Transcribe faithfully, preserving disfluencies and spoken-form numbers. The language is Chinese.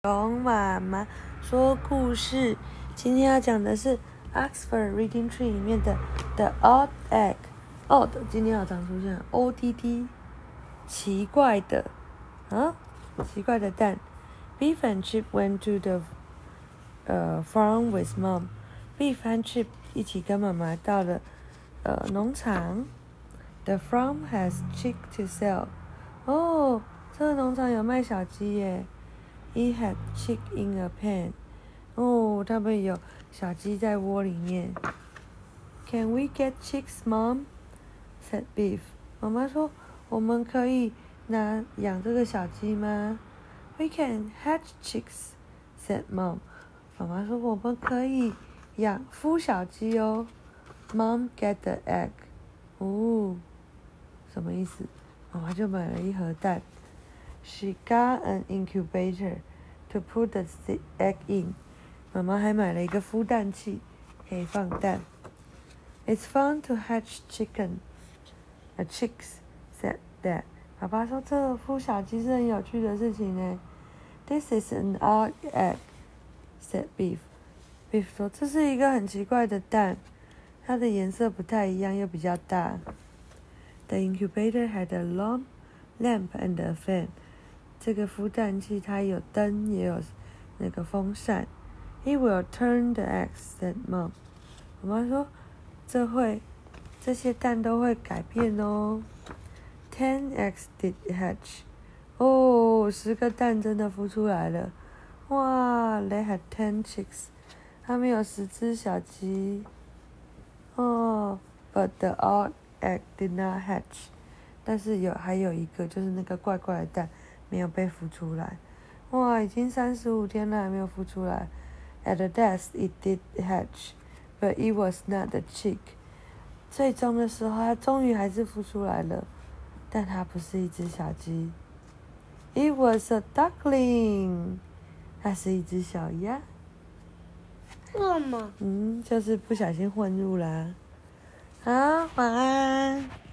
龙妈妈说故事，今天要讲的是 Oxford Reading Tree 里面的 The Odd Egg。Odd 今天要常出现 O D D， 奇怪的啊，奇怪的蛋。Beef and Chip went to the 呃、uh, farm with mom. Beef 和 Chip 一起跟妈妈到了呃农场。The farm has chick to sell. 哦，这个农场有卖小鸡耶。It had chick in a pen. 哦，他们有小鸡在窝里面。Can we get chicks, Mom? Said Beef. 妈妈说，我们可以拿养这个小鸡吗 ？We can hatch chicks, said Mom. 妈妈说，我们可以养孵小鸡哦。Mom get the egg. 哦，什么意思？妈妈就买了一盒蛋。She got an incubator to put the egg in. 妈妈还买了一个孵蛋器，可以放蛋。It's fun to hatch chicken, a chicks, said Dad. 爸爸说这孵小鸡是很有趣的事情呢。This is an odd egg, said Beef. Beef 说这是一个很奇怪的蛋，它的颜色不太一样，又比较大。The incubator had a long lamp and a fan. 这个孵蛋器它有灯也有那个风扇。It will turn the eggs, said Mom. 妈妈说这会这些蛋都会改变哦。Ten eggs did hatch. 哦，十个蛋真的孵出来了。哇 ，They had ten chicks. 他们有十只小鸡。哦 ，But the odd egg did not hatch. 但是有还有一个就是那个怪怪的蛋。没有被孵出来，哇！已经三十五天了还没有孵出来。At the death, it did hatch, but it was not a chick. 最终的时候，它终于还是孵出来了，但它不是一只小鸡。It was a duckling. 它是一只小鸭。 为什么？ 嗯，就是不小心混入啦。好，晚安。